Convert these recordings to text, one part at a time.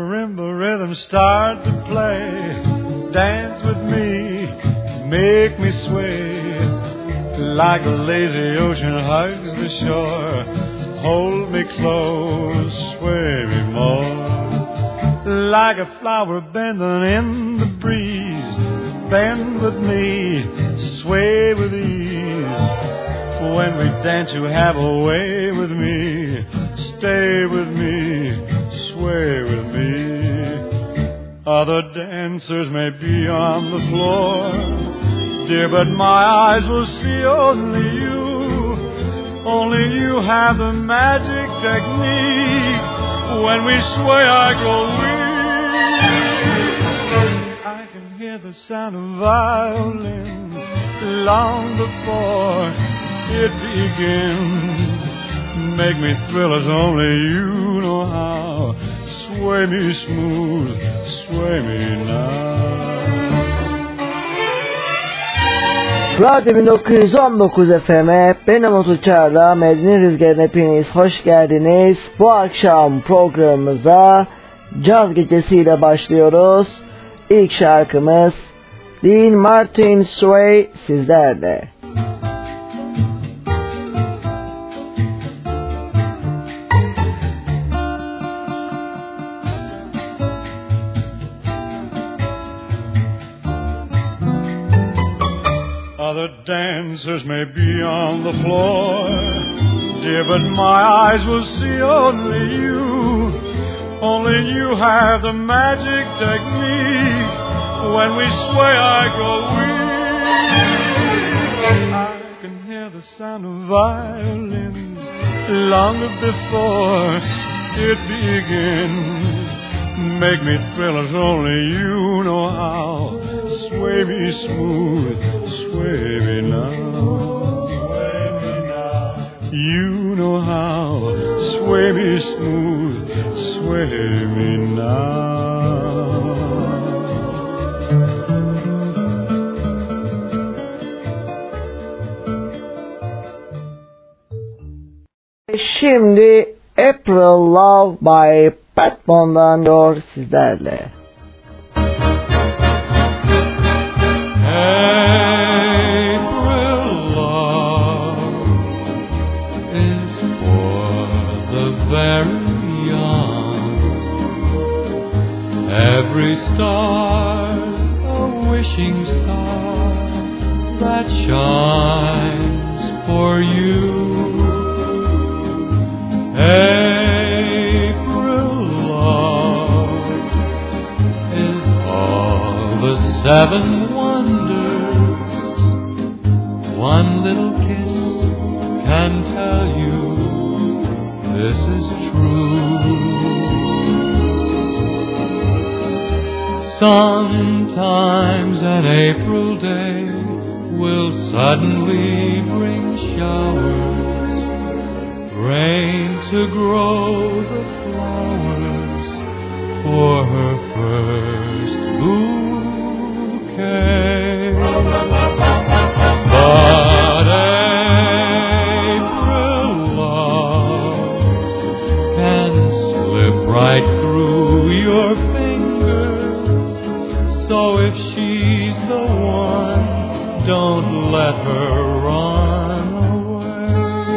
marimba rhythm start to play. Dance with me, make me sway. Like a lazy ocean hugs the shore. Hold me close, sway me more. Like a flower bending in the breeze. Bend with me, sway with ease. When we dance you have a way with me. Stay with me, sway with me. Other dancers may be on the floor, dear, but my eyes will see only you. Only you have the magic technique. When we sway I grow weak. I can hear the sound of violins long before it begins. Make me thrill as only you know how. Sway me smooth, sway me now. Radyo 1919 FM'e benim Umut Çağla, Medine Rüzgarı'na hepiniz hoş geldiniz. Bu akşam programımıza caz gecesiyle başlıyoruz. İlk şarkımız Dean Martin Sway sizlerle. Other dancers may be on the floor, dear, but my eyes will see only you. Only you have the magic technique. When we sway I grow weak. I can hear the sound of violins long before it begins. Make me thrill as only you know how. Sway me smooth, sway me now. Sway me now. You know how. Sway me smooth, sway me now. Şimdi April Love by Pat Bone'dan diyor sizlerle. April love is for the very young. Every star's a wishing star that shines for you. April love is all the 7 wonders. One little kiss can tell you this is true. Sometimes an April day will suddenly bring showers, rain to grow the flowers for her first bouquet. But April love can slip right through your fingers. So if she's the one, don't let her run away.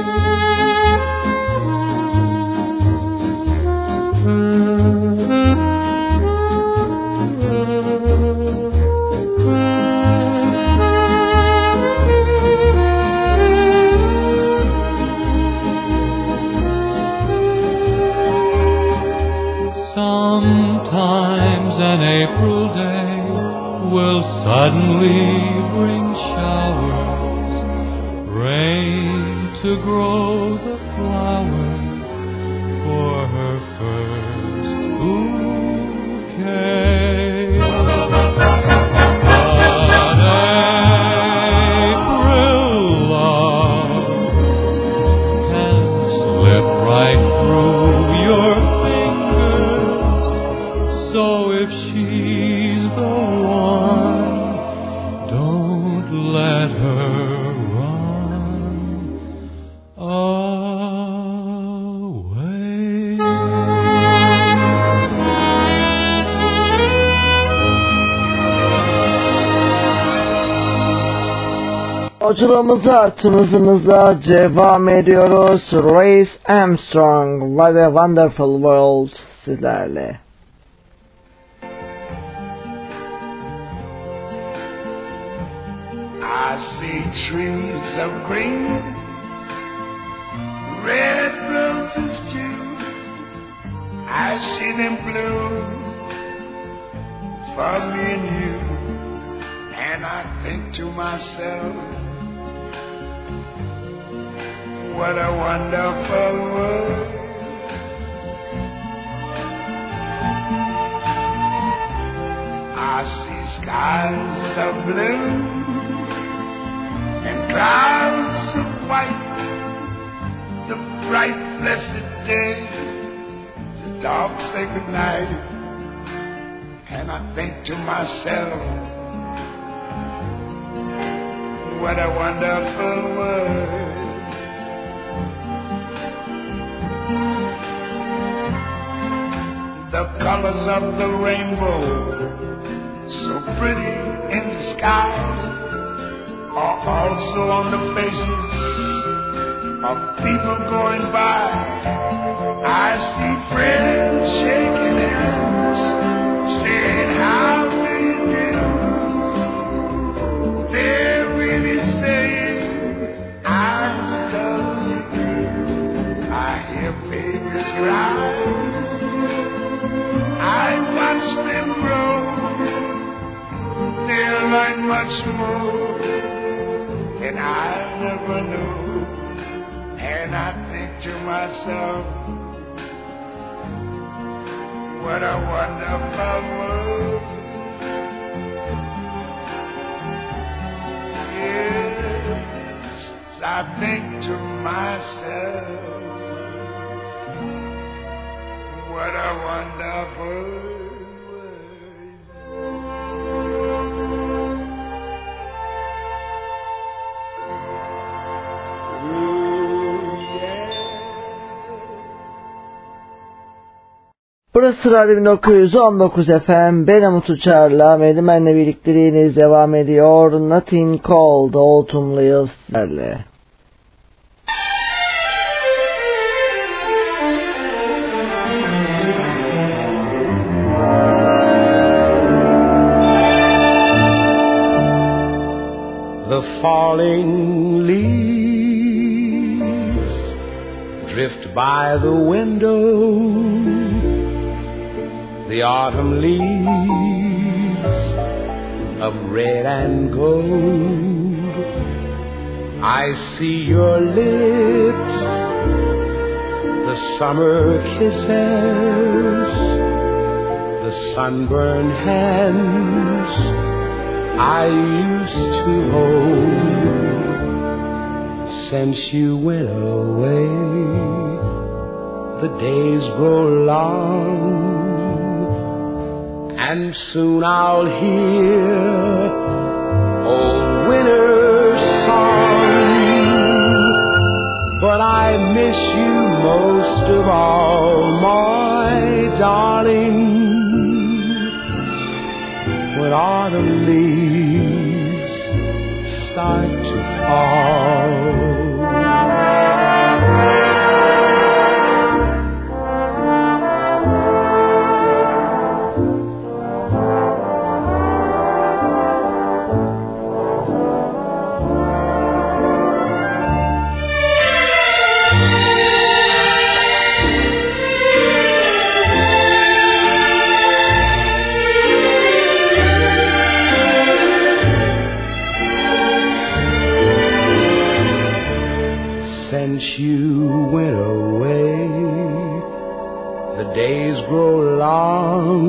Sometimes an April day will suddenly bring showers, rain to grow the flowers for her first bouquet. But April love can slip right through your fingers. So if she's the one, don't let her run away. Yolculuğumuza tımızımıza devam ediyoruz. Louis Armstrong, What a Wonderful World sizlerle. I see trees of green, red roses too. I see them bloom for me and you. And I think to myself, what a wonderful world. I see skies of blue and clouds of white, the bright blessed day, the dark sacred night. And I think to myself, what a wonderful world. The colors of the rainbow, so pretty in the sky, are also on the faces of people going by. I see friends shaking hands, saying how do you do. They're really saying I love you. I hear babies cry, I watch them grow. They'll learn much more than I never knew. And I think to myself, what a wonderful world. Yes, I think to myself, what a wonderful world. Burası Radyo 1919 FM. Ben Umut Uçar'la Medimen'le birlikteliğiniz devam ediyor. Nothing Cold, Autumn Leaves'lerle. The falling leaves drift by the window, the autumn leaves of red and gold. I see your lips, the summer kisses, the sunburned hands I used to hold. Since you went away, the days grow long, and soon I'll hear old winter's song. But I miss you most of all, my darling, when autumn leaves start to fall. Since you went away, the days grow long,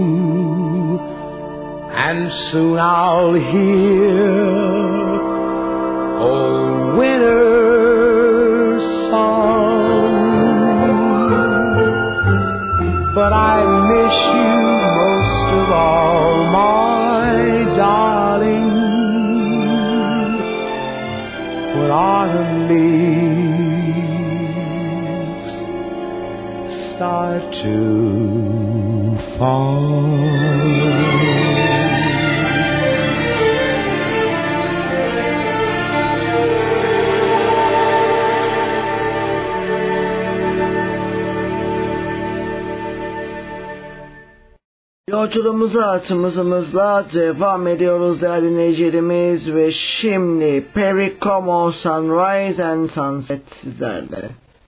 and soon I'll hear old winter's song. But I miss you most of all, my darling, when autumn leaves start to fall. Yolculuğumuza atımızla devam ediyoruz değerli dinleyicilerimiz ve şimdi Perry Como Sunrise and Sunset sizlerle.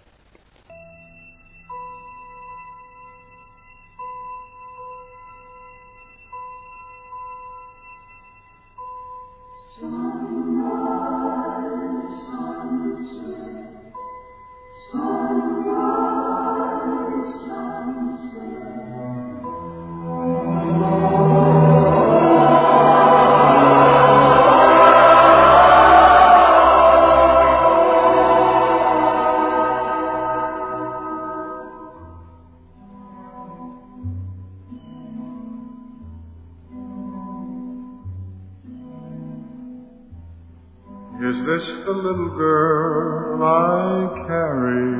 Is this the little girl I carry?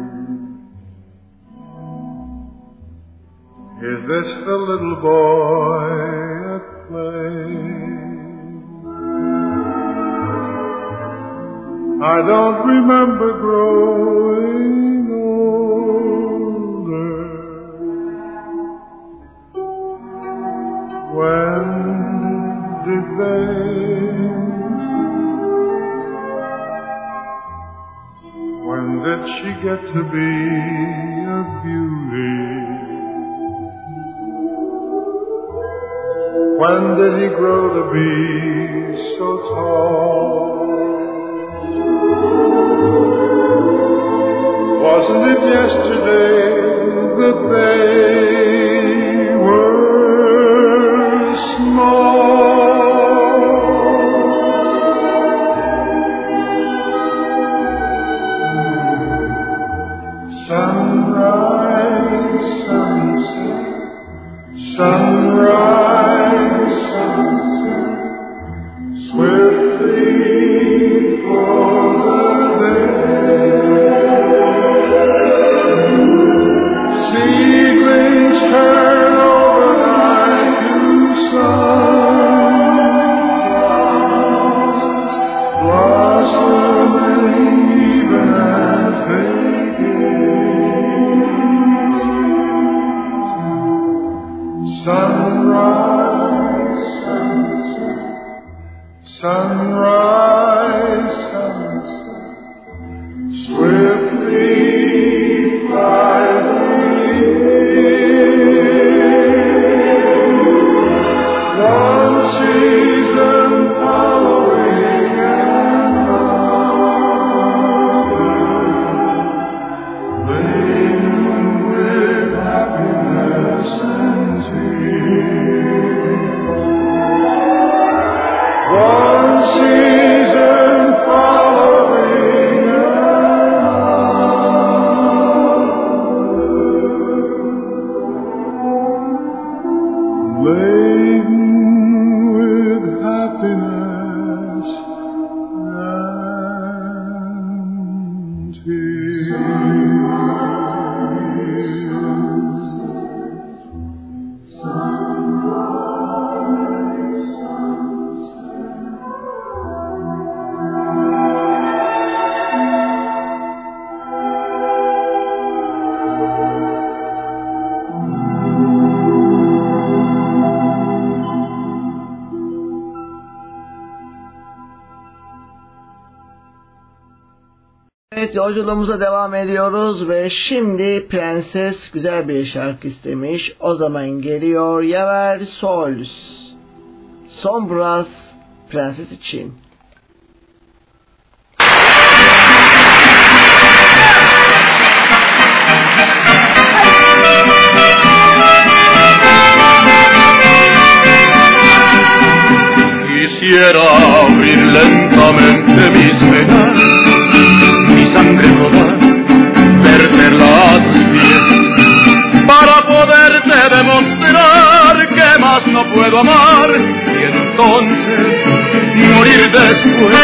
Is this the little boy at play? I don't remember growing older. When did they? When did she get to be a beauty? When did he grow to be so tall? Wasn't it yesterday that they were small? Sunrise, sunset, sunrise, sunset, swiftly for the day. Seedlings turn overnight to sunflowers, blossoming even as they sunrise, sunset, sunrise, sunset, swiftly fly the years. One season following another, laden with happiness and one season following another, laden with happiness and tears. Evet, yolculuğumuza devam ediyoruz ve şimdi Prenses güzel bir şarkı istemiş. O zaman geliyor Yaver Sols Sombras Prenses için. Quisiera abrir lentamente mis venas, mi sangre rodar, verterla a tus pies, para poderte demostrar que más no puedo amar, y entonces morir después.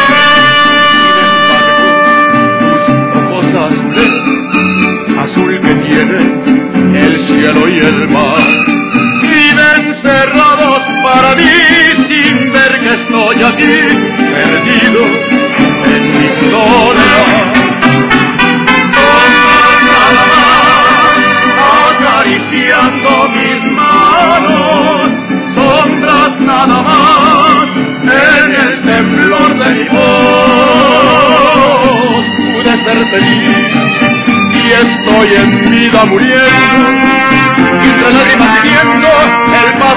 Sin embargo, tus ojos azules, azul que tienen el cielo y el mar, viven cerrados para mí, sin ver que estoy aquí, perdido en mi soledad. Sombras nada más, acariciando mis manos,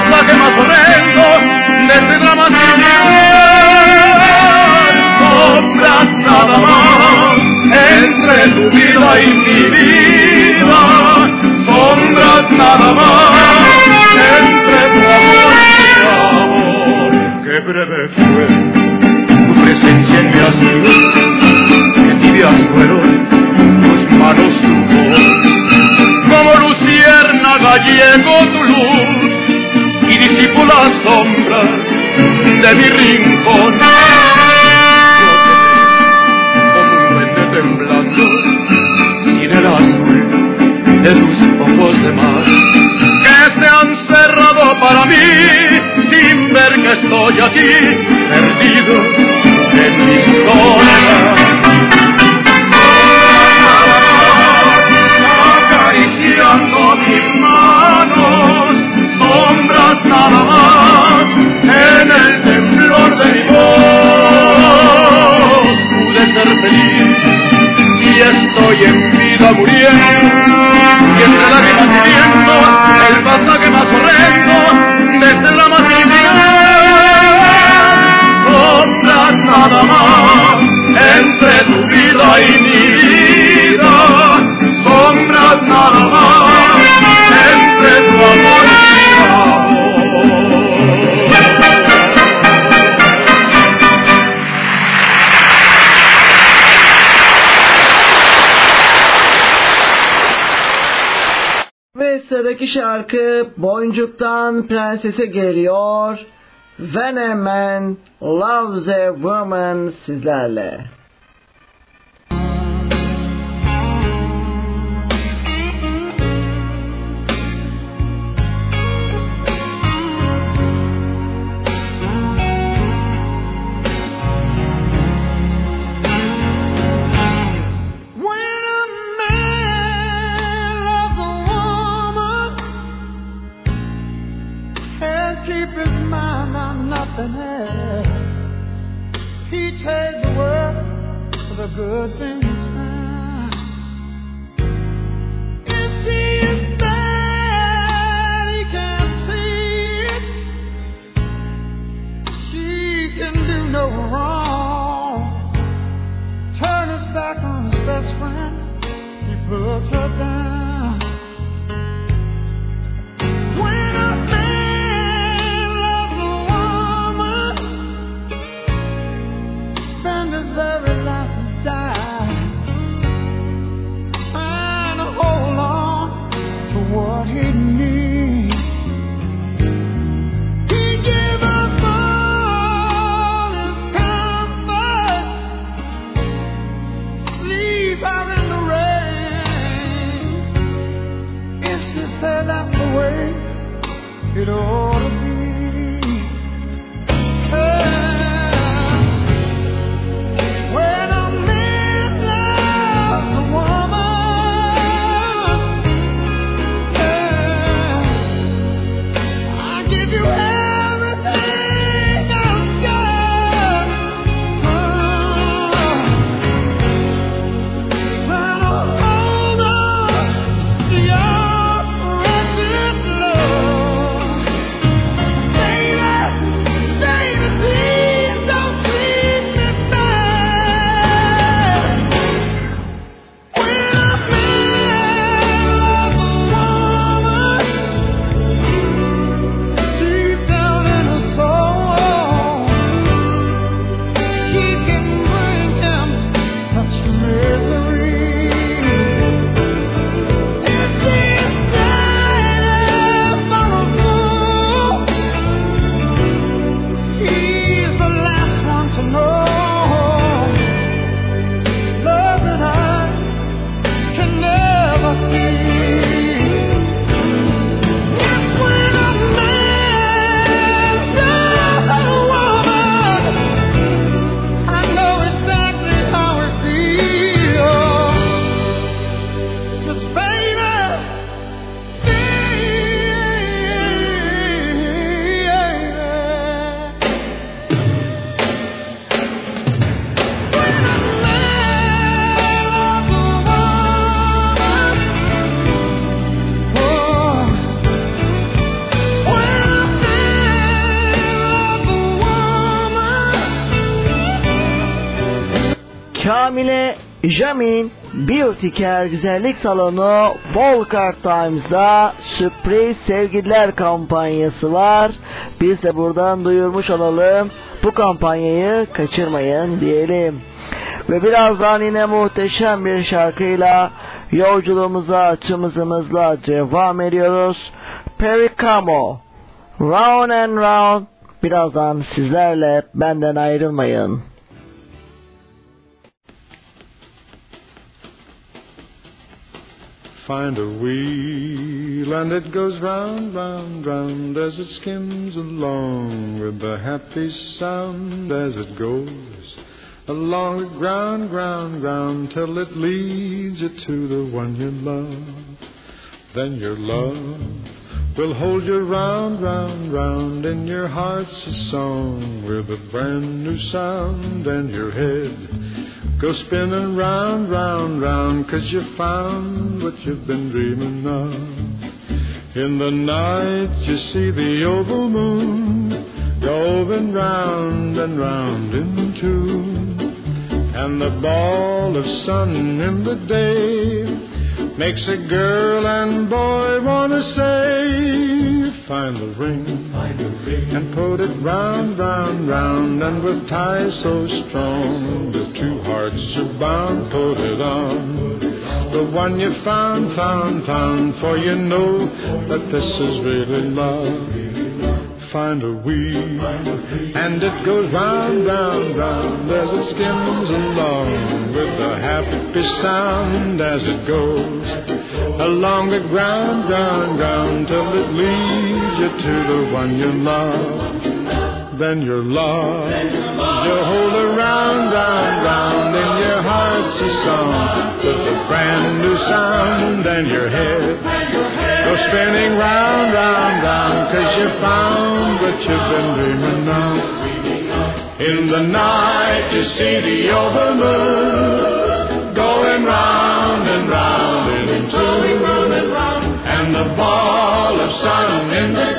pasaje más horrendo de este drama sin sombras nada más entre tu vida y mi vida, sombras nada más entre tu amor y mi amor. Qué breve fue tu presencia en mi asilo, que tibias fueron tus manos, tu voz, como luciérnaga llegó tu luz y disipó las sombras de mi rincón. Temblando sin el azul de tus ojos de mar que se han cerrado para mí sin ver que estoy aquí perdido en mi soledad. Acariciando mis manos, sombras nada más en el temblor de mi voz pude ser feliz. Y estoy en vida muriendo, y entre lágrimas viviendo el pasaje más horrendo de este drama sin final. Sombras nada más entre tu vida y mi vida, sombras nada más entre tu amor y mi amor. Ve sıradaki şarkı Boncuk'tan Prenses'e geliyor. When a Man Loves a Woman sizlerle. He trades the world for the good things found. If she is bad, he can't see it. She can do no wrong. Turn his back on his best friend, he puts her down. When a man loves a woman, spend his very life and die, trying to hold on to what he needs. He gave up all his comfort, sleep out in the rain. If she said that's the way it ought to be. When a man loves a woman, I give you everything I've got. Trying to hold on to your precious love. Şamile Jamin Beauty Care Güzellik Salonu Volkart Times'da sürpriz sevgililer kampanyası var. Biz de buradan duyurmuş olalım. Bu kampanyayı kaçırmayın diyelim. Ve birazdan yine muhteşem bir şarkıyla yolculuğumuza tımızımızla devam ediyoruz. Perry Como, Round and Round. Birazdan sizlerle, benden ayrılmayın. Find a wheel and it goes round, round, round as it skims along with the happy sound as it goes along the ground, ground, ground till it leads you to the one you love. Then your love will hold you round, round, round in your heart's a song with a brand new sound, and your head go spinning round, round, round 'cause you found what you've been dreaming of. In the night you see the oval moon going round and round in tune, and the ball of sun in the day makes a girl and boy wanna say, find the ring and put it round, round, round, and with ties so strong the two hearts are bound. Put it on the one you found, found, found, for you know that this is really love. Find a wheel and it goes round, round, round as it skims along with a happy sound as it goes along the ground, ground, ground till it leads you to the one you love. Then your love, you hold her round, round, round in your heart's a song with a brand new sound, and your head go spinning round, round, round 'cause you found what you've been dreaming of. In the night you see the oval moon going round and round in tune, and the ball of sun in the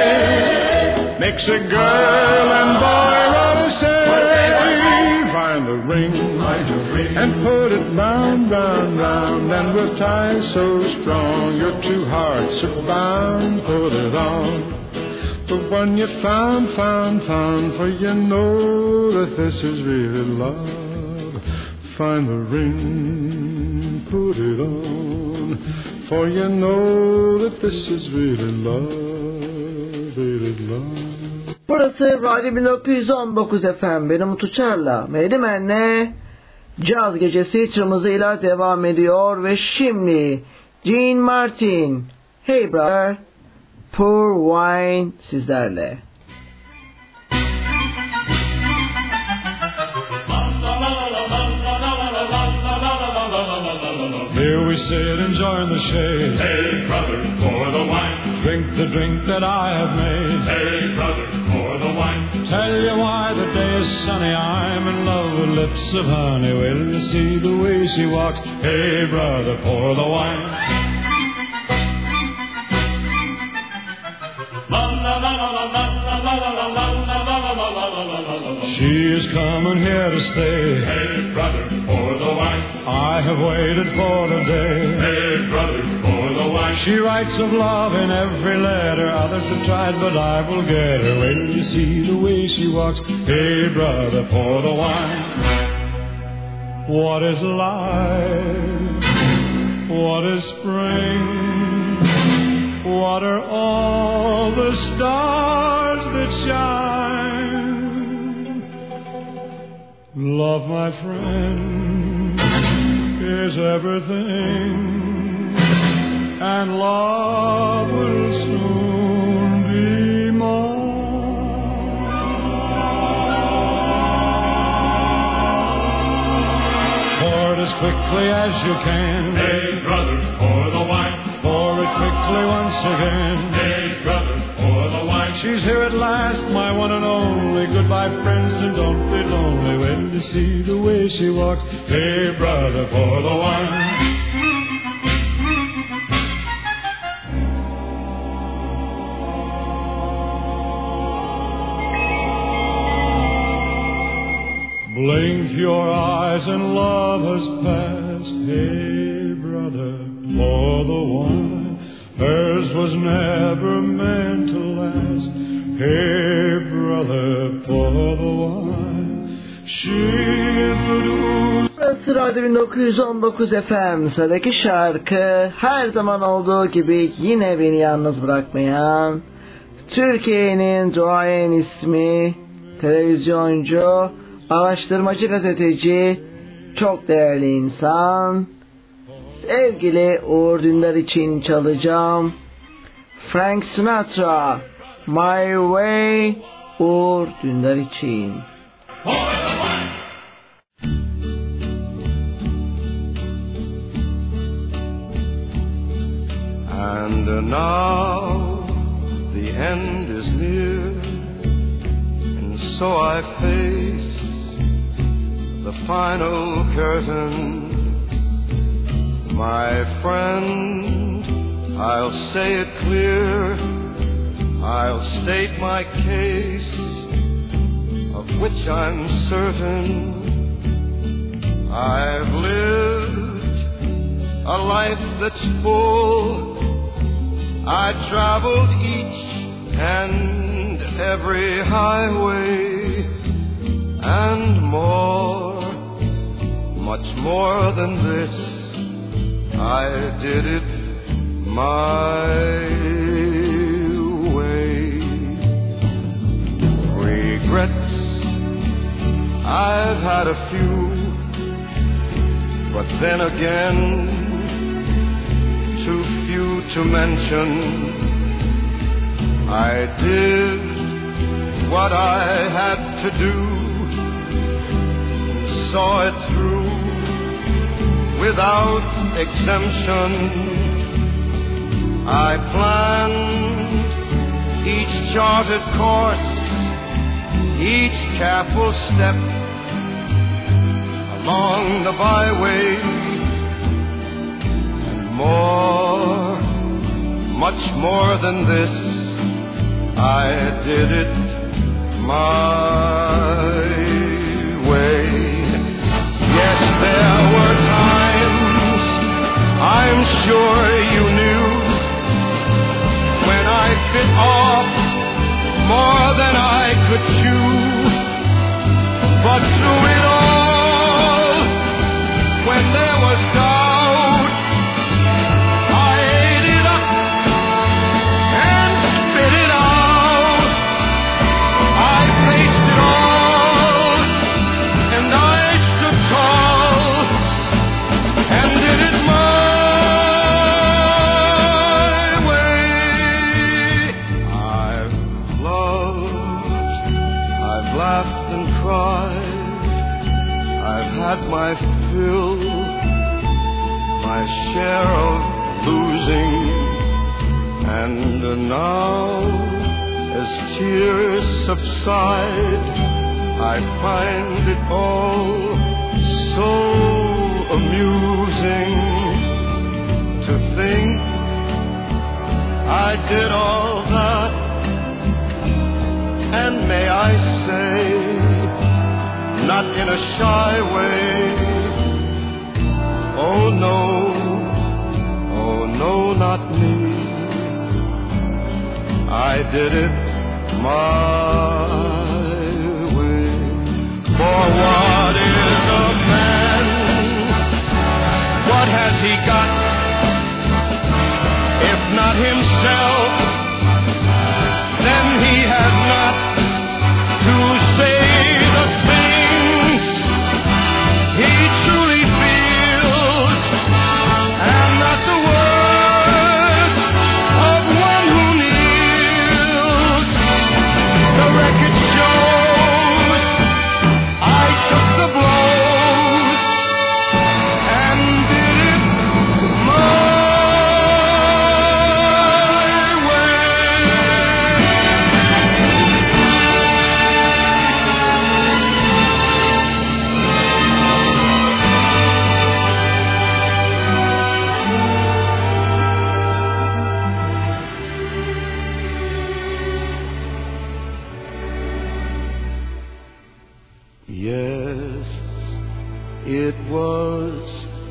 day makes a girl and boy wanna say, find the ring and put it round, round, round, and with ties so strong your two hearts are bound. Put it on the one you found, found, found, for you know that this is really love. Find the ring, put it on, for you know that this is really love, really love. Burası Radyo 1919 FM. Benim Uçar'la Medimen'le Caz Gecesi tırmızıyla devam ediyor ve şimdi Dean Martin, Hey Brother, Pour Wine sizlerle. Here we sit enjoying the shade. Hey, brother, pour the wine. Drink the drink that I have made. Hey, brother, pour the wine. Tell you why the day is sunny. I'm in love with lips of honey. Will you see the way she walks? Hey, brother, pour the wine. She is coming here to stay. Hey, brother, pour the wine. I have waited for the day. Hey, brother, pour the wine. She writes of love in every letter. Others have tried, but I will get her. Will you see the way she walks? Hey, brother, pour the wine. What is life? What is spring? What are all the stars that shine? Love, my friend, is everything, and love will soon be mine. Pour it as quickly as you can. Hey, brother, pour the wine. Pour it quickly once again. Hey, brother, pour the wine. She's here at last, my one and only. Goodbye, friends, and don't be lonely. When you see the way she walks, hey, brother, pour the wine. Blink your eyes and love has passed. Hey, brother, pour the wine. Hers was never meant to last. Hey, brother, pour the wine. Burası Radyo 1919 FM. Sıradaki şarkı her zaman olduğu gibi yine beni yalnız bırakmayan, Türkiye'nin duayen ismi, televizyoncu, araştırmacı, gazeteci, çok değerli insan, sevgili Uğur Dündar için çalacağım. Frank Sinatra, My Way, Uğur Dündar için. And now the end is near, and so I face the final curtain. My friend, I'll say it clear, I'll state my case, of which I'm certain. I've lived a life that's full. I traveled each and every highway, and more, much more than this, I did it my way. Regrets, I've had a few, but then again, too few to mention. I did what I had to do, saw it through without exemption. I planned each charted course, each careful step along the byway, and more, much more than this, I did it my way. Yes, there were times, I'm sure you knew, when I bit off more than I could chew. But through it all, when there was doubt, I ate it up and spit it out. I faced it all, and I stood tall, and did it my way. I've loved, I've laughed and cried, I've had my fill, my share of losing, and now, as tears subside, I find it all so amusing to think I did all that, and may I say, not in a shy way, oh no, not me. I did it my way. For what is a man? What has he got? If not himself, then he has not to say the things he truly feels, and not the words of one who kneels. The record shows I took the blows and did it my it was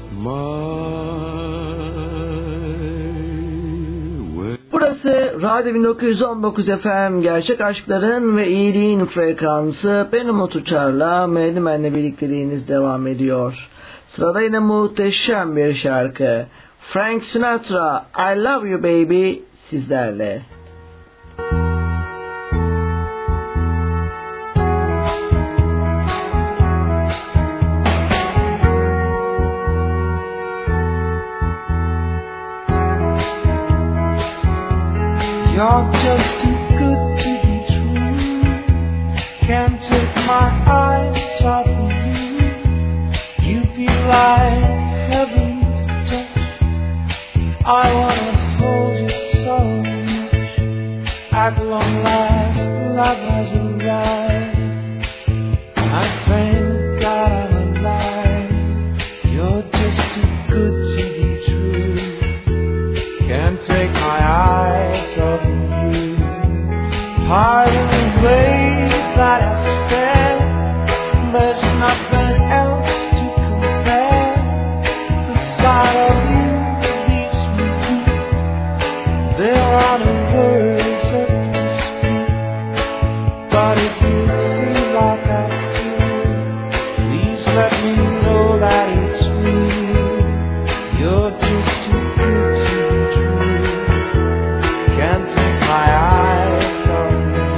Burası Radyo 1919 FM, gerçek aşkların ve iyiliğin frekansı. Ben Umut Uçar'la Mehdimen'le birlikteliğiniz devam ediyor. Sırada yine muhteşem bir şarkı. Frank Sinatra, I Love You Baby sizlerle. You're just too good to be true. Can't take my eyes off of you. You feel like heaven to touch. I wanna hold you so much. At long last, love has arrived. I thank God I'm alive. You're just too good to be true. Can't take my eyes off of you. Pardon the way that I stare. There's nothing else to compare. The sight of you leaves me weak. There are no words that can speak. But if you feel like I feel, please let me know that it's real. You're just too good to be true. Can't take my eyes off of you.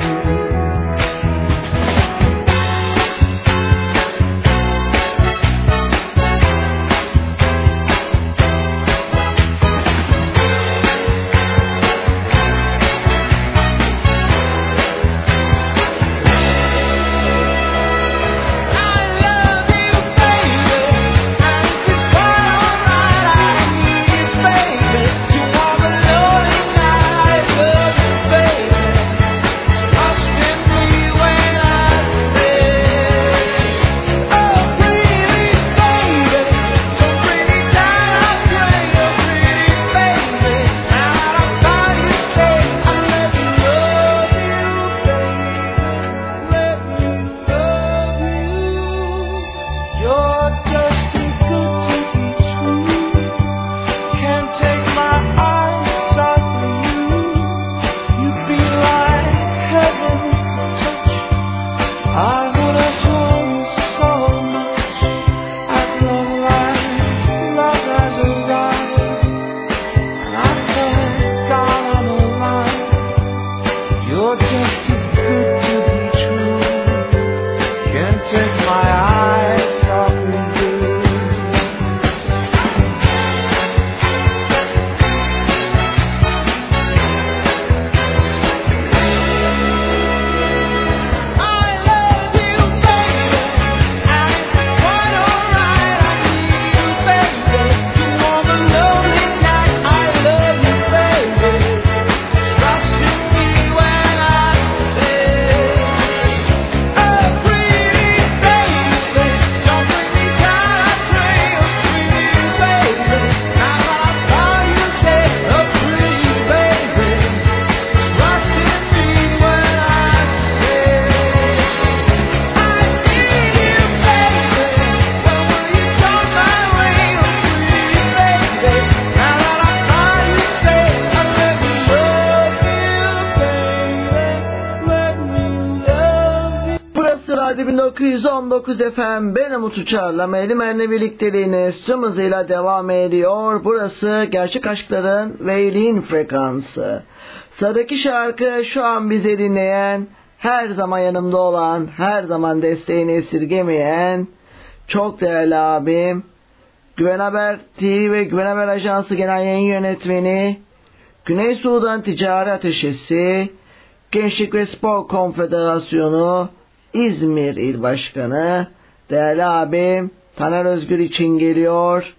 Radyo 1919 FM, ben Umut Uçar'la Mehdimen'le birlikteliğiniz tüm hızıyla devam ediyor. Burası gerçek aşkların ve iyiliğin frekansı. Sıradaki şarkı şu an bizi dinleyen, her zaman yanımda olan, her zaman desteğini esirgemeyen çok değerli abim, Güven Haber TV ve Güven Haber Ajansı Genel Yayın Yönetmeni, Güney Sudan Ticari Ateşesi, Gençlik ve Spor Konfederasyonu İzmir İl Başkanı değerli abim Taner Özgür için geliyor.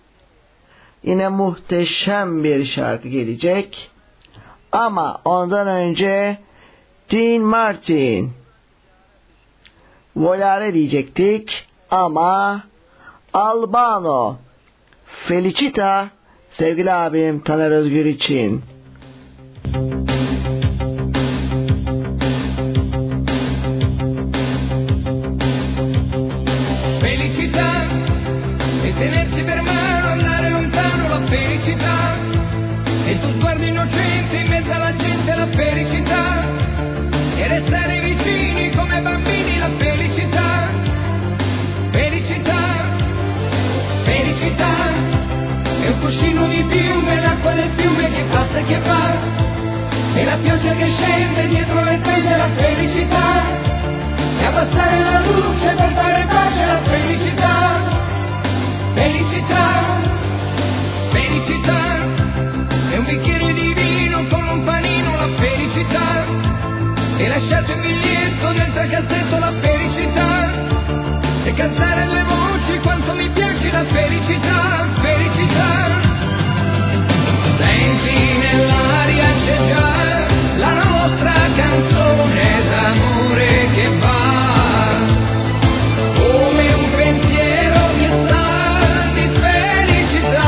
Yine muhteşem bir şarkı gelecek. Ama ondan önce Dean Martin Volare diyecektik ama Albano Felicita sevgili abim Taner Özgür için. Felicita cuscino di piume, l'acqua del fiume che passa e che va, e la pioggia che scende dietro le tende, la felicità, e abbassare la luce per fare pace, la felicità, felicità, felicità, e un bicchiere di vino con un panino, la felicità, e lasciate un biglietto dentro il cassetto, la felicità, e cantare due voci quanto mi piace la felicità, felicità. Senti nell'aria c'è già la nostra canzone d'amore che va, come un pensiero che sa di felicità.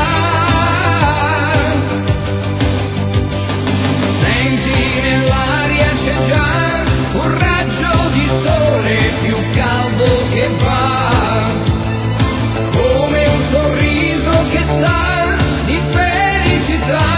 Senti nell'aria c'è già un raggio di sole più caldo che va, come un sorriso che sa di felicità.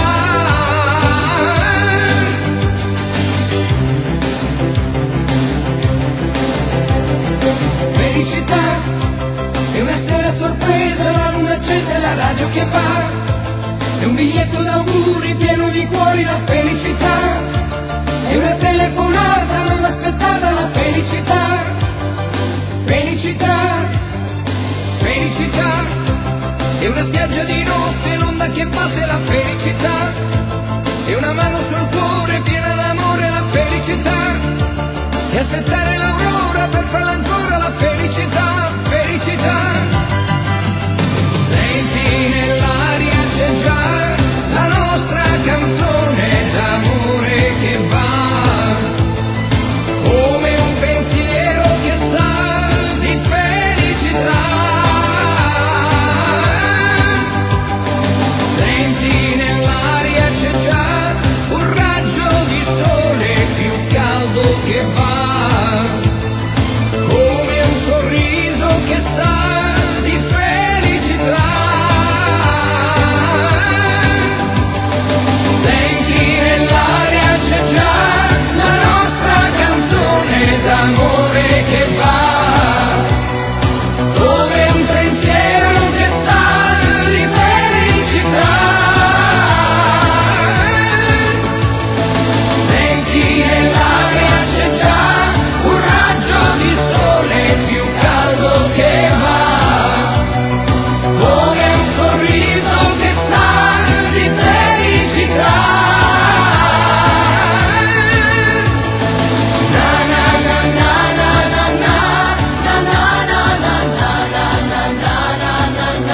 Felicità, è una sera sorpresa, la luna accesa e la radio che va, è un biglietto d'auguri pieno di cuori, la felicità, è una telefonata non aspettata, la felicità, felicità, felicità, è una spiaggia di notte, l'onda che batte, la felicità, è una mano sul cuore piena d'amore, la felicità, e aspettare l'aurora per farla ancora, la felicità, felicità. Senti nell'aria c'è già la nostra canzone d'amore che va, come un pensiero che sa di felicità. Senti nell'aria c'è già un raggio di sole più caldo che va, come un sorriso che sa di felicità. Senti nell'aria c'è già la nostra canzone d'amore che va, come un pensiero che sa di felicità. Senti nell'aria c'è già un raggio di sole più caldo che va, come un sorriso che sa di felicità. Na na na na na na na na na na na na na na na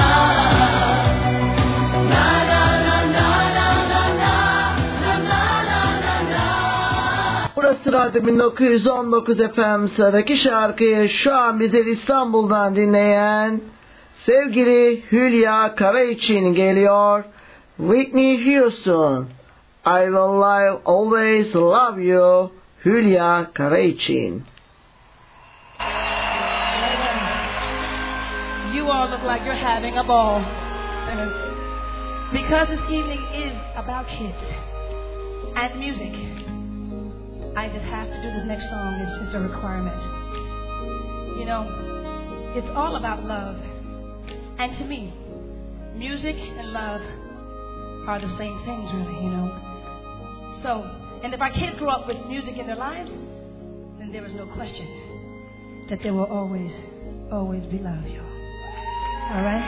Burası Radyo 1919 FM. Sıradaki şarkıyı şu an bize İstanbul'dan dinleyen sevgili Hülya Kara için geliyor. Whitney Houston, I Will Always Love You, Hülya Kara için. You all look like you're having a ball. Because this evening is about kids and music, I just have to do this next song. It's just a requirement. You know, it's all about love. And to me, music and love are the same things, really, you know. So, and if our kids grow up with music in their lives, then there is no question that there will always, always be love, y'all. All right?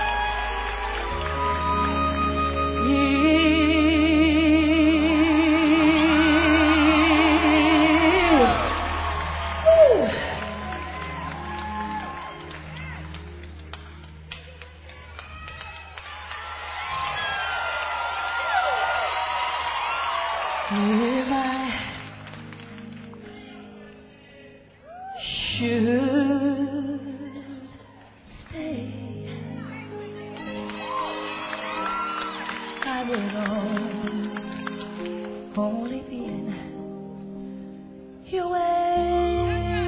Yeah. If I should stay, I would only be in your way.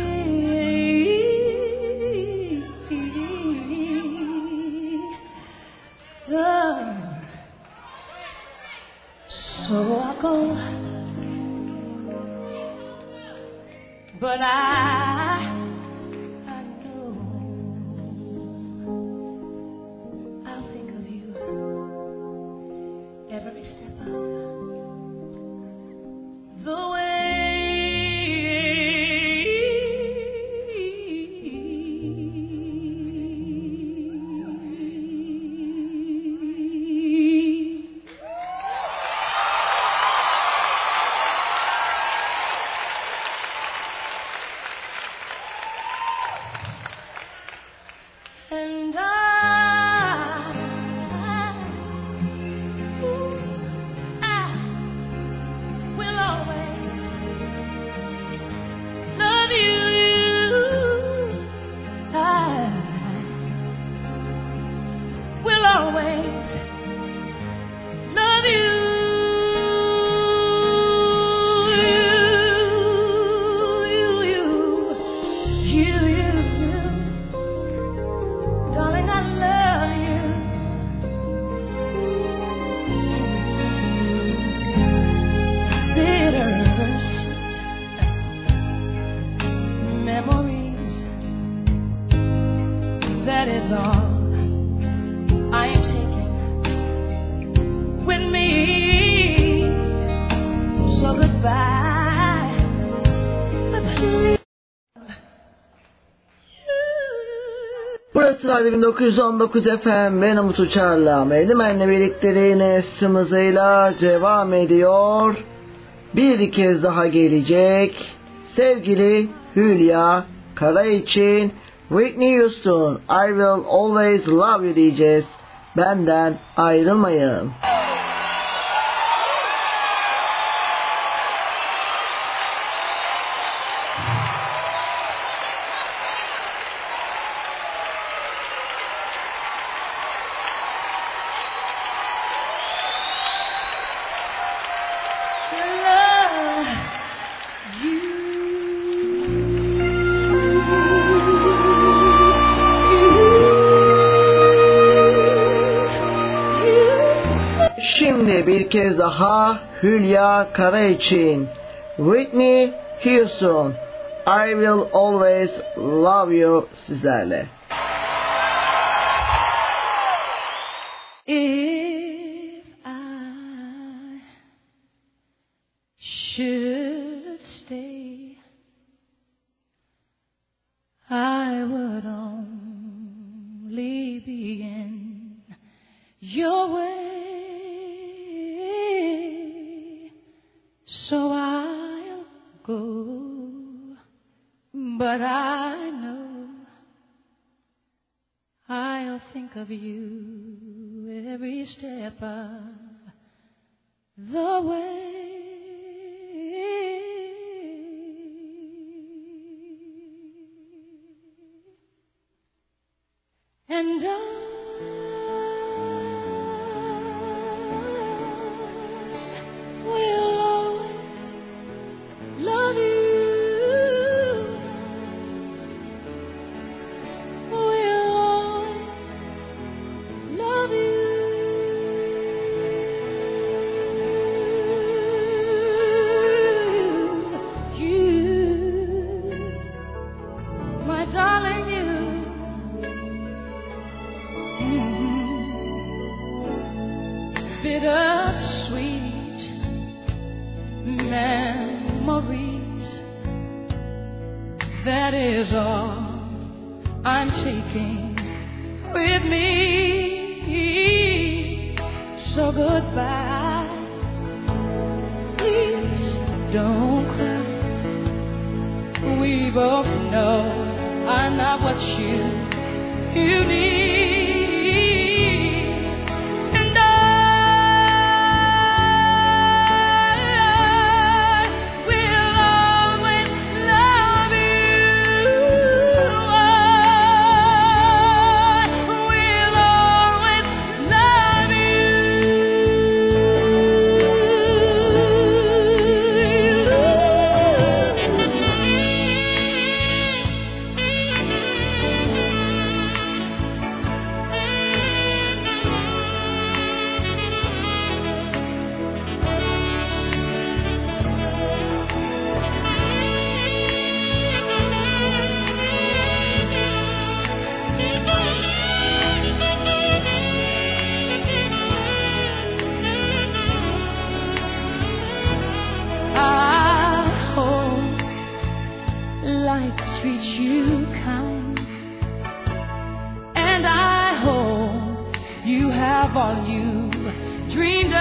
So I go, but I know I'll think of you song I am taking with me. So goodbye, but please. Burası Radyo 1919 FM. Ben Umut Uçar'la Mevlimen'le birlikte yine hızıyla devam ediyor. Bir kez daha gelecek. Sevgili Hülya Kara için Whitney Houston, I Will Always Love You diyeceğiz. Benden ayrılmayın. Şimdi bir kez daha Hülya Kara için Whitney Houston, I Will Always Love You sizlerle. If I should stay, I would only be in your way. So I'll go, but I know I'll think of you every step of the way. And I will always love you. Will always love you. You, my darling, you. Bittersweet memories, that is all I'm taking with me. So goodbye, please don't cry. We both know I'm not what you need. All you dreamed of,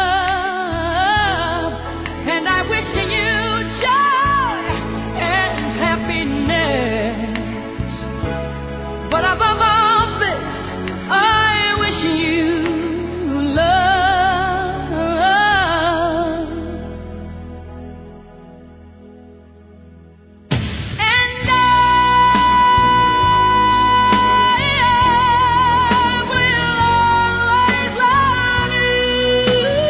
and I wish you joy and happiness. But above all this, I wish you love. And I will always love you.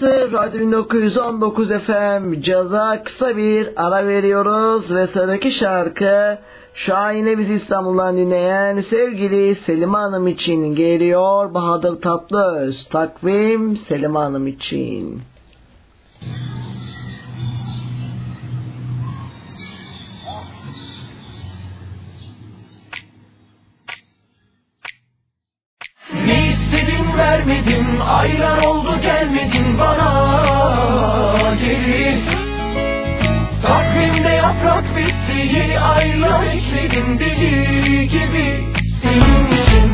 Burası Radyo 1919 FM Caz'a kısa bir ara veriyoruz ve sıradaki şarkı şahane bizi İstanbul'dan dinleyen sevgili Selime Hanım için geliyor. Bahadır Tatlıöz, takvim Selime Hanım için. Ne istedim vermedim, aylar oldu gelmedin bana geri. Takvimde yaprak bitti, yeni aylar ekledim deli gibi senin için.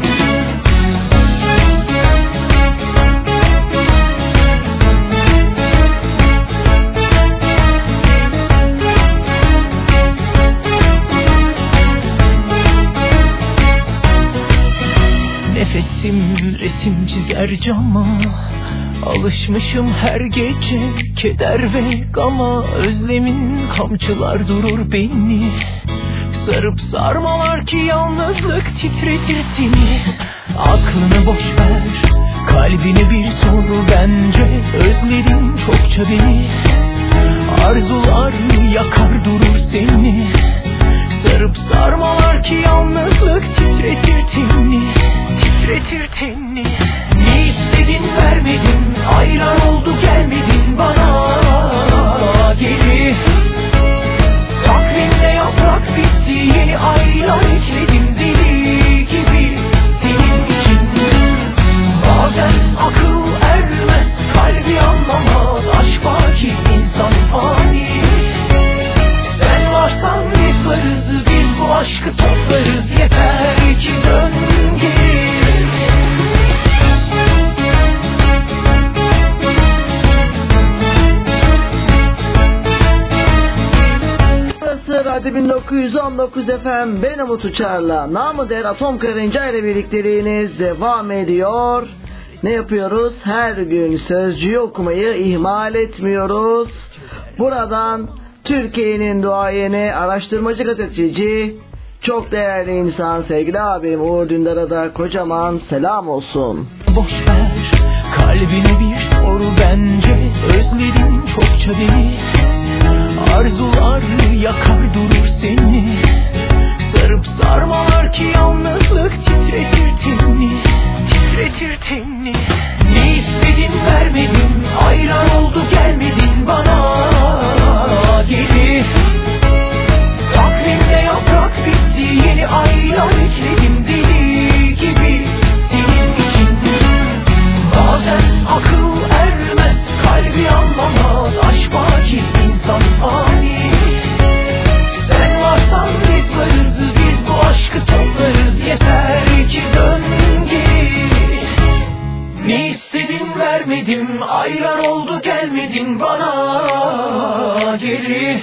Nefesim resim çizer cama, alışmışım her gece keder ve gama. Özlemin kamçılar durur beni, sarıp sarmalar ki yalnızlık titretir seni. Aklını boş ver, kalbini bir sor bence. Özledim çokça beni, arzular yakar durur seni. Sarıp sarmalar ki yalnızlık titretir tenini, titretir tenini. Ne istedin vermedin, aylar oldu gelmedin bana geri. Takvimde yaprak bitti, yeni aylar ekledim deli gibi senin için. Bazen akıl ermez, kalbi anlamaz, aşk baki insan fani. Sen varsan biz varız, biz bu aşkı toplarız, yeter ki dön geri. Radyo 1919 FM, ben Umut Uçar'la namı der Atom Karınca ile birlikteliğiniz devam ediyor. Ne yapıyoruz? Her gün sözcüğü okumayı ihmal etmiyoruz. Buradan Türkiye'nin duayeni, araştırmacı gazeteci, çok değerli insan sevgili abim Uğur Dündar'a da kocaman selam olsun. Boş ver, kalbine bir soru bence. Özledim çokça beni, arzular yakar durur seni. Sarıp sarmalar ki yalnızlık titretir tenini, titretir tenini. Ne istedin vermedin, aylar oldu gelmedin bana geri. Takvimde yaprak bitti, yeni aylar ekledim deli gibi senin için. Bazen akıl ermez, kalbi anlamaz, aşk baki insan fani. Sen varsan biz varız, biz bu aşkı toplarız, yeter ki dön geri. Ne istedin vermedim, aylar oldu gelmedin bana geri.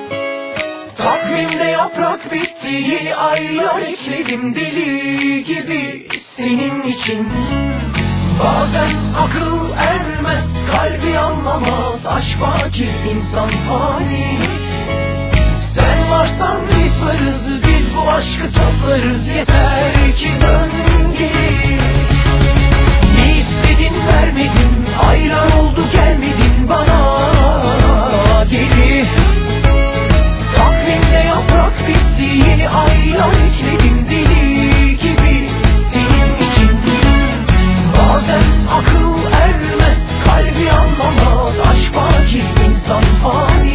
Takvimde yaprak bitti, yeni aylar ekledim deli gibi senin için. Bazen akıl ermez, kalbi anlamaz, aşk baki insan fani. Sen varsan biz varız, biz bu aşkı toplarız, yeter ki dön geri. Ne istedin vermedin, aylar oldu gelmedin bana geri. Takvimde yaprak bitti, yeni aylar ekledim deli gibi senin için. Bazen akıl ermez, kalbi anlamaz, aşk baki insan fani.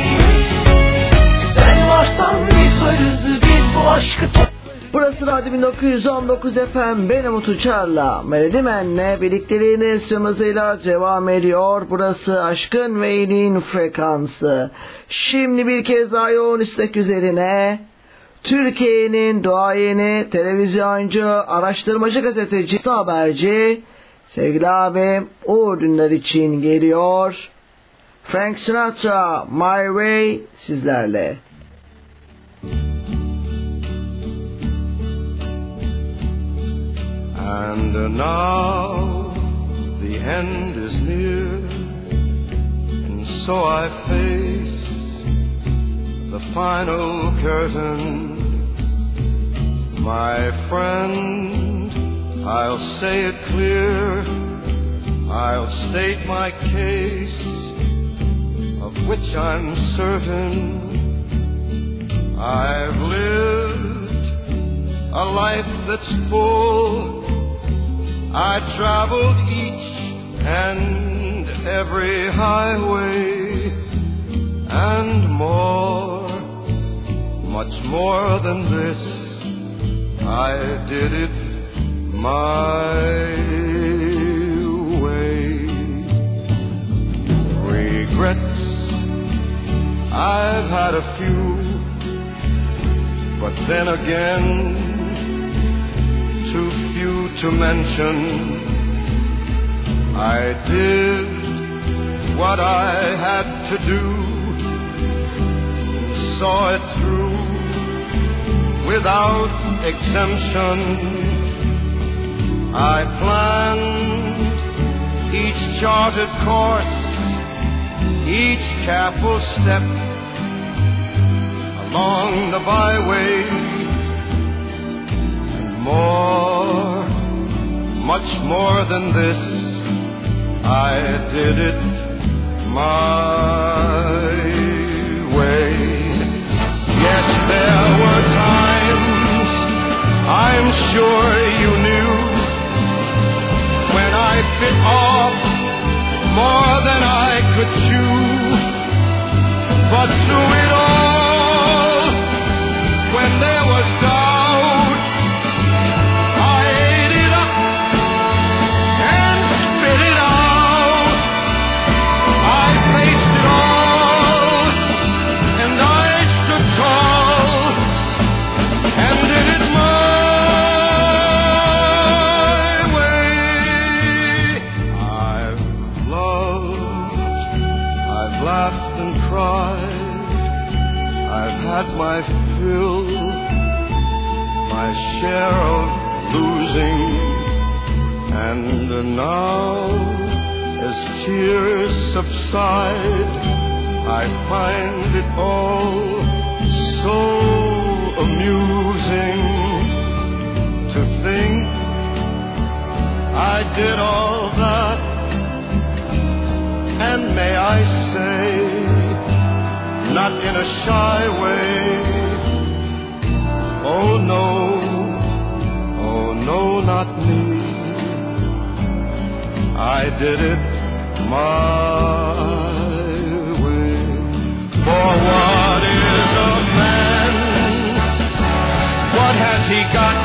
Sen varsan biz varız, biz bu aşkı Burası Radyo 1919 FM, ben Umut Uçar'la Melodi Men'le birlikteliğiniz hızıyla devam ediyor. Burası Aşkın ve İyiliğin frekansı. Şimdi bir kez daha yoğun istek üzerine Türkiye'nin duayeni, televizyoncu, araştırmacı, gazeteci, haberci sevgili abim Uğur Dündar için geliyor. Frank Sinatra, My Way sizlerle. And now the end is near, and so I face the final curtain. My friend, I'll say it clear, I'll state my case, of which I'm certain. I've lived a life that's full. I traveled each and every highway, and more, much more than this, I did it my way. Regrets, I've had a few, but then again, too few to mention. I did what I had to do, saw it through without exemption. I planned each charted course, each careful step along the byway, and more, much more than this, I did it my way. Yes, there were times, I'm sure you knew, when I bit off more than I could chew. But through it all, when there was doubt, I ate it up and spit it out. I faced it all, and I stood tall, and did it my way. I've loved, I've laughed and cried, I've had my fill, my share of losing, and now, as tears subside, I find it all so amusing to think I did all that, and may I say, not in a shy way, oh no, not me. I did it my way. For what is a man? What has he got?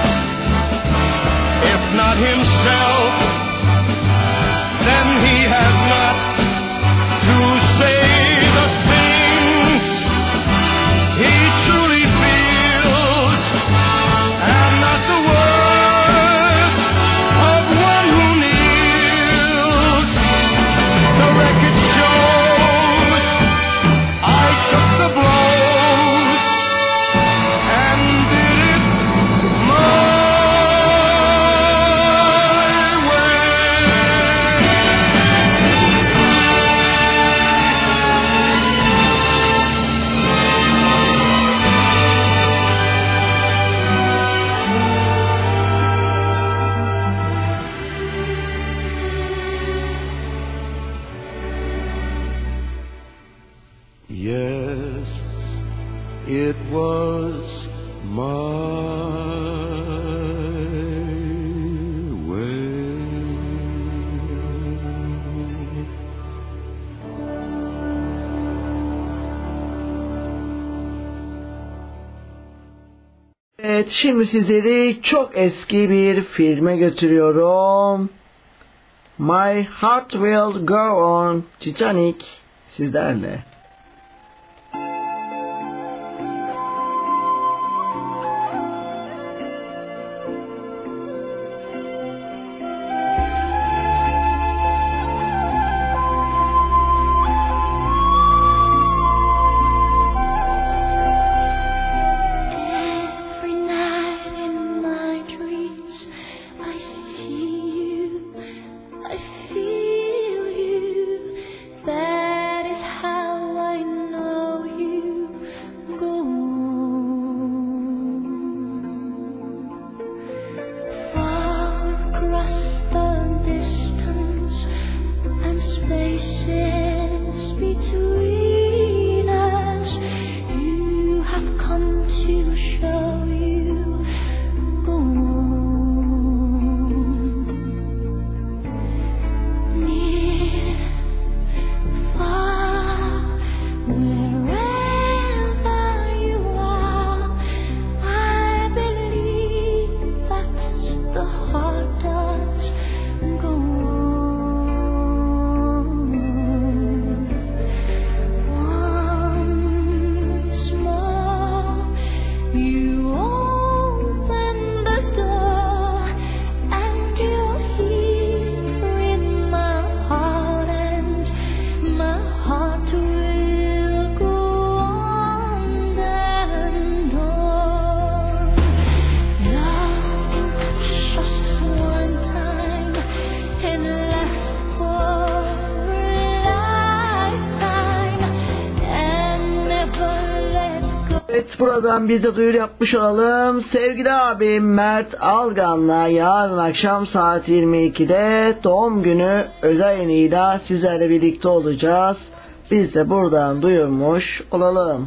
If not himself, then he has not to say the things he truly feels, and not the words of one who kneels. The record shows I took the blows and did it my Yes, it was my way. Evet, şimdi sizleri çok eski bir filme götürüyorum. My Heart Will Go On, Titanic sizlerle. Every night in my dreams, I see you, I feel you. That is how Evet, buradan biz de duyuru yapmış olalım. Sevgili abim Mert Algan'la yarın akşam saat 22'de doğum günü özel yayınıyla sizlerle birlikte olacağız. Biz de buradan duyurmuş olalım.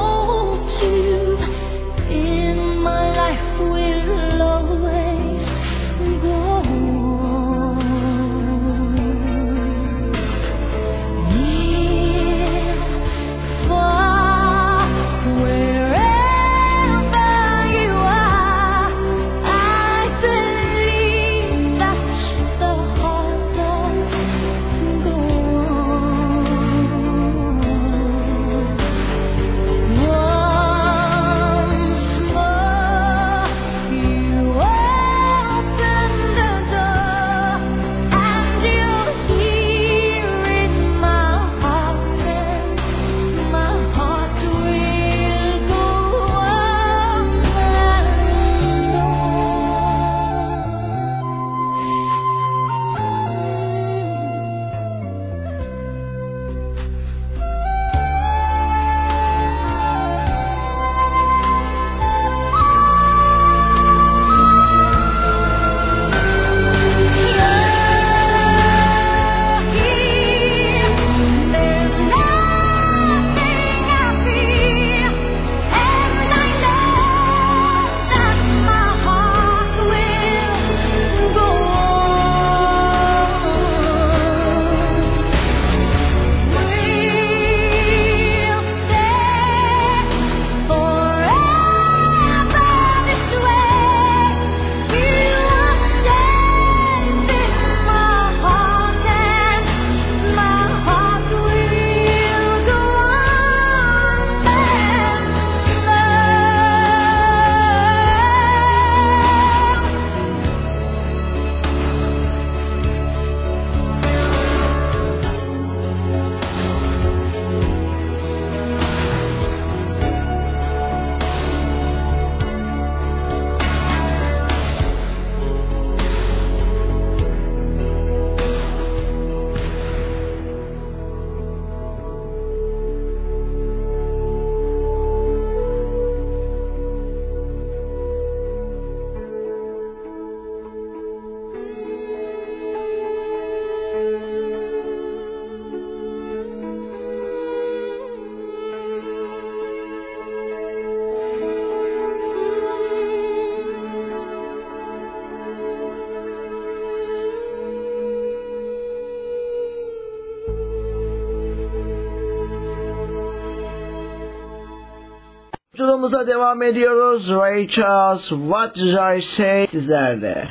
Yolumuza devam ediyoruz. Ray Charles, What Did I Say sizlerde.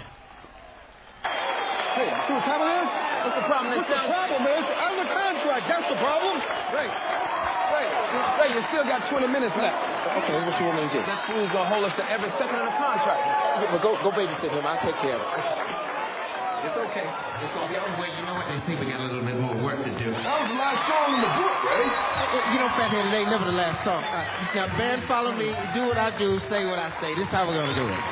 Hey, see what problem is? What's the problem? What's the problem is? I'm the contract. That's the problem. Ray, you still got 20 minutes left. Okay, what you want me to do? That fool's gonna hold us to every second of the contract. Yeah, but go babysit him. I'll take care of it. It's okay. It's gonna be on the way. You know what? They think we got a little bit more work to do. That was the last song in the book, Ray. You know, Fathead, it ain't never the last song. Now, band, follow me. Do what I do. Say what I say. This is how we're gonna do it.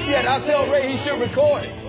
this yet. I'll tell Ray he should record it.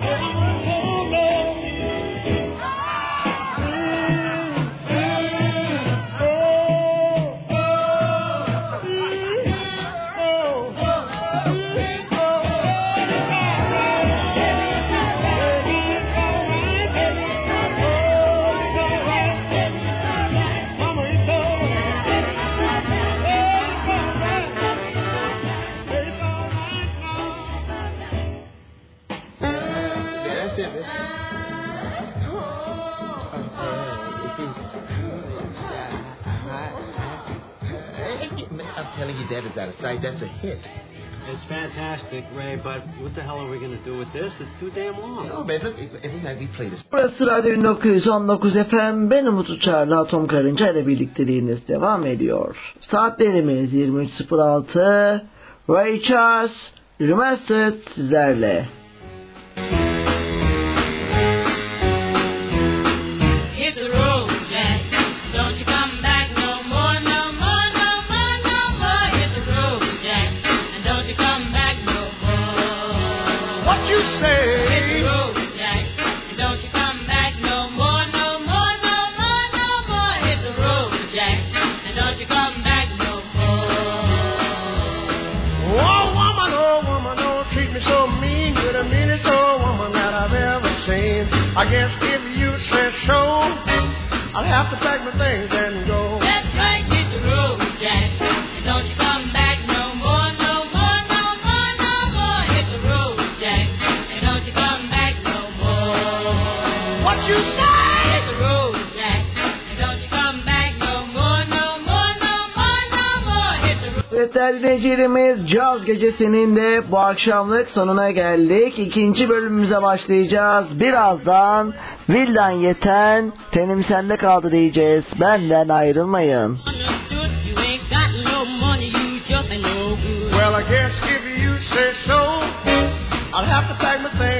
I'm telling you, Dad is out of sight. That's a hit. It's fantastic, Ray, but what the hell are we going to do with this? It's too damn long. No, man, look, every night we play this. Burası Radyo 1919 FM. Ben Umut Uçar'la Atom Karınca ile birlikteliğiniz devam ediyor. Saatlerimiz 23.06. Ray Charles Remastered sizlerle. I guess if you say so, I'll have to pack my things and go. That's right, hit the road, Jack. And don't you come back no more, no more, no more, no more. Hit the road, Jack. And don't you come back no more. What you say? Hit the road, Jack. And don't you come back no more, no more, no more, no more. Hit the road. Evet değerli dinleyicilerimiz, Caz Gecesi'nin de bu akşamlık sonuna geldik. İkinci bölümümüze başlayacağız. Birazdan Vildan Yeten, Tenim Sende Kaldı diyeceğiz. Benden ayrılmayın. Well, I guess if you say so, I'll have to pack my things.